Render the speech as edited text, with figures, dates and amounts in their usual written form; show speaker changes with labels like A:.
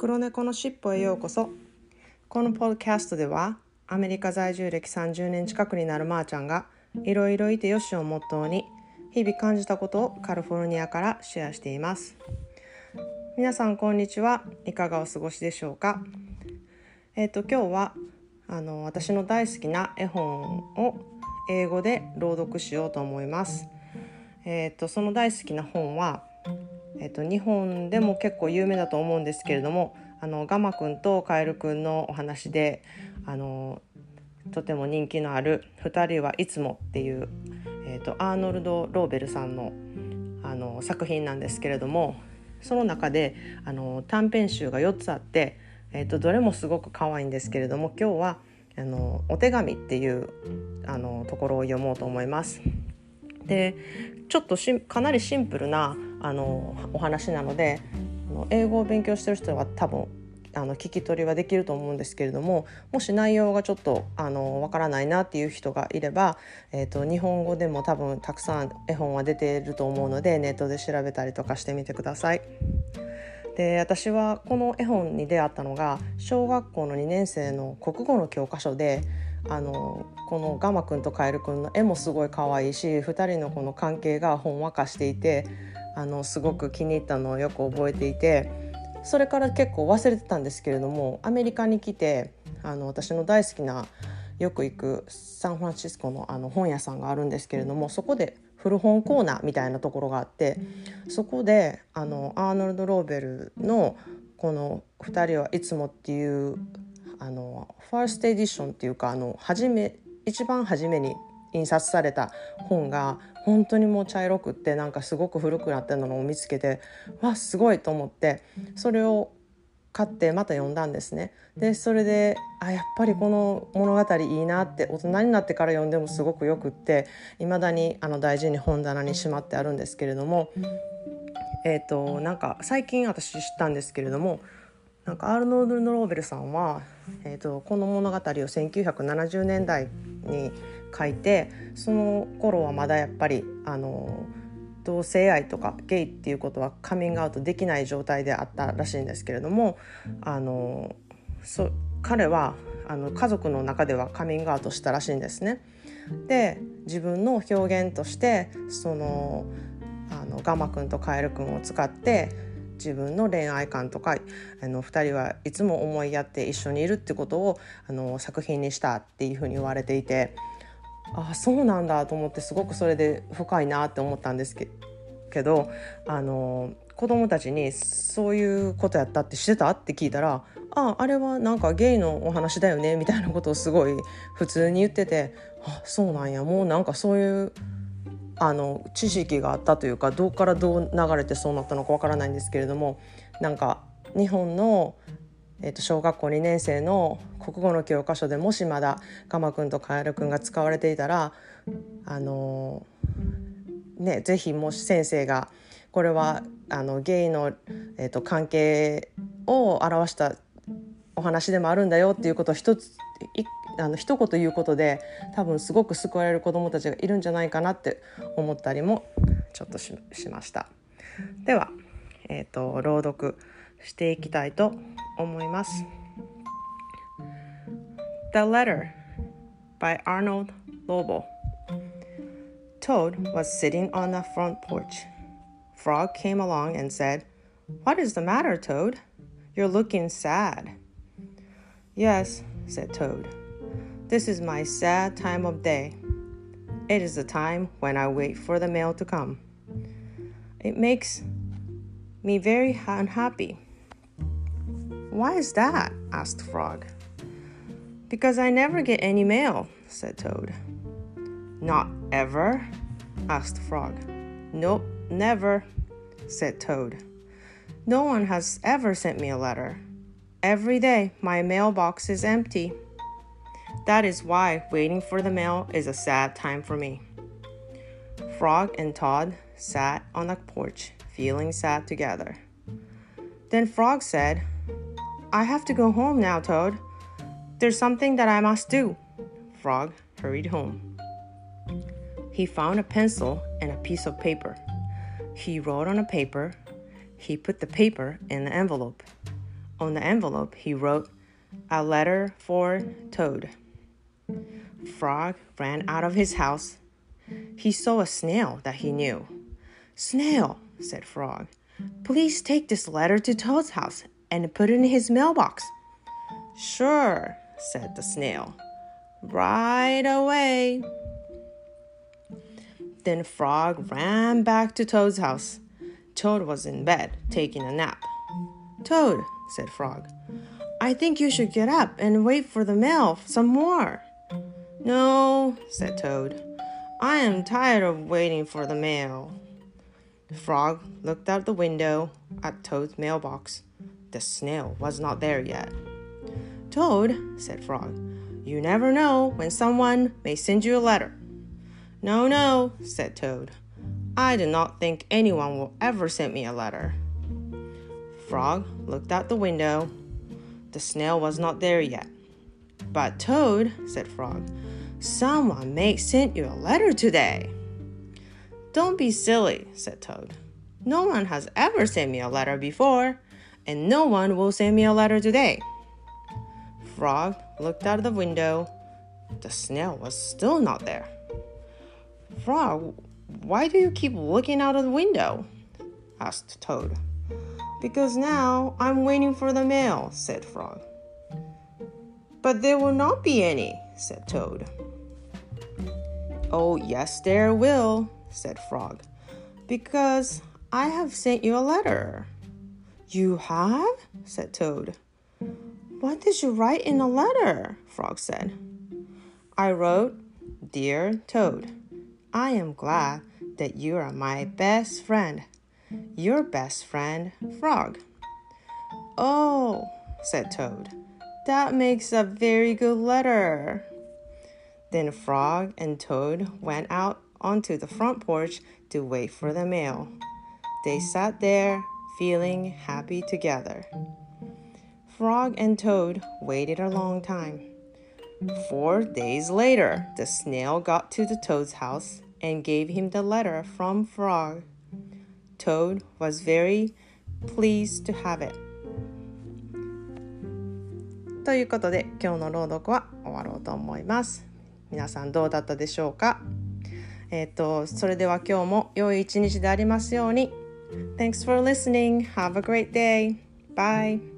A: 黒猫のしっぽへようこそ。このポッドキャストではアメリカ在住歴30年近くになるまーちゃんがいろいろいてよしをモットーに日々感じたことをカリフォルニアからシェアしています。皆さんこんにちは。いかがお過ごしでしょうか。今日は私の大好きな絵本を英語で朗読しようと思います。その大好きな本は日本でも結構有名だと思うんですけれども、ガマくんとカエルくんのお話でとても人気のある2人はいつもっていう、アーノルド・ローベルさんの、作品なんですけれども、その中で短編集が4つあって、どれもすごく可愛いんですけれども、今日はお手紙っていうところを読もうと思います。でちょっとかなりシンプルなお話なので、英語を勉強してる人は多分聞き取りはできると思うんですけれども、もし内容がちょっとわからないなっていう人がいれば、日本語でも多分たくさん絵本は出ていると思うので、ネットで調べたりとかしてみてください。で、私はこの絵本に出会ったのが小学校の2年生の国語の教科書で、このガマくんとカエルくんの絵もすごい可愛いし、2人のこの関係がほんわかしていて、すごく気に入ったのをよく覚えていて、それから結構忘れてたんですけれども、アメリカに来て私の大好きなよく行くサンフランシスコの本屋さんがあるんですけれども、そこで古本コーナーみたいなところがあって、そこでアーノルド・ローベルのこの2人はいつもっていうファーストエディションっていうか一番初めに印刷された本が本当にもう茶色くって、なんかすごく古くなってるのを見つけて、わすごいと思って、それを買ってまた読んだんですね。でそれでやっぱりこの物語いいなって、大人になってから読んでもすごくよくって、未だに大事に本棚にしまってあるんですけれども、なんか最近私知ったんですけれども、なんかアーノルド・ローベルさんは、この物語を1970年代に書いて、その頃はまだやっぱり同性愛とかゲイっていうことはカミングアウトできない状態であったらしいんですけれども、彼は家族の中ではカミングアウトしたらしいんですね。で自分の表現としてガマくんとカエルくんを使って自分の恋愛観とか2人はいつも思いやって一緒にいるってことを作品にしたっていうふうに言われていて、そうなんだと思って、すごくそれで深いなって思ったんですけど、子供たちにそういうことやったって知ってたって聞いたら、あれはなんかゲイのお話だよねみたいなことをすごい普通に言ってて、そうなんや、もうなんかそういう知識があったというか、どうからどう流れてそうなったのかわからないんですけれども、なんか日本の小学校2年生の国語の教科書でもしまだガマくんとカエルくんが使われていたら、ぜひもし先生がこれはゲイの、関係を表したお話でもあるんだよっていうことを一言言うことで、多分すごく救われる子どもたちがいるんじゃないかなって思ったりもちょっと しました。では、朗読していきたいと思います。 The Letter by Arnold Lobel. Toad was sitting on the front porch. Frog came along and said, "What is the matter, Toad? You're looking sad." "Yes," said Toad. "This is my sad time of day. It is the time when I wait for the mail to come. It makes me very unhappy." "Why is that?" asked Frog. "Because I never get any mail," said Toad. "Not ever?" asked Frog. "Nope, never," said Toad. "No one has ever sent me a letter. Every day my mailbox is empty. That is why waiting for the mail is a sad time for me." Frog and Toad sat on the porch, feeling sad together. Then Frog said, "I have to go home now, Toad. There's something that I must do." Frog hurried home. He found a pencil and a piece of paper. He wrote on the paper. He put the paper in the envelope. On the envelope, he wrote, "A letter for Toad." Frog ran out of his house. He saw a snail that he knew. "Snail," said Frog, "please take this letter to Toad's house and put it in his mailbox." "Sure," said the snail. "Right away." Then Frog ran back to Toad's house. Toad was in bed, taking a nap. "Toad," said Frog, "I think you should get up and wait for the mail some more." "No," said Toad, "I am tired of waiting for the mail." Frog looked out the window at Toad's mailbox. The snail was not there yet. "Toad," said Frog, "you never know when someone may send you a letter." No, said Toad. "I do not think anyone will ever send me a letter." Frog looked out the window. The snail was not there yet. "But Toad," said Frog, "someone may send you a letter today." "Don't be silly," said Toad. "No one has ever sent me a letter before, and no one will send me a letter today." Frog looked out the window. The snail was still not there. "Frog, why do you keep looking out of the window?" asked Toad. "Because now I'm waiting for the mail," said Frog. "But there will not be any," said Toad. "Oh, yes, there will," said Frog, "because I have sent you a letter." "You have?" said Toad. "What did you write in the letter?" Frog said. "I wrote, 'Dear Toad, I am glad that you are my best friend. Your best friend, Frog.'" "Oh," said Toad, "that makes a very good letter." Then Frog and Toad went out onto the front porch to wait for the mail. They sat there, feeling happy together. Frog and Toad waited a long time. 4 days later, the snail got to the Toad's house and gave him the letter from Frog. Toad was very pleased to have it. ということで、今日の朗読は終わろうと思います。皆さんどうだったでしょうか？それでは今日も良い一日でありますように。Thanks for listening. Have a great day. Bye.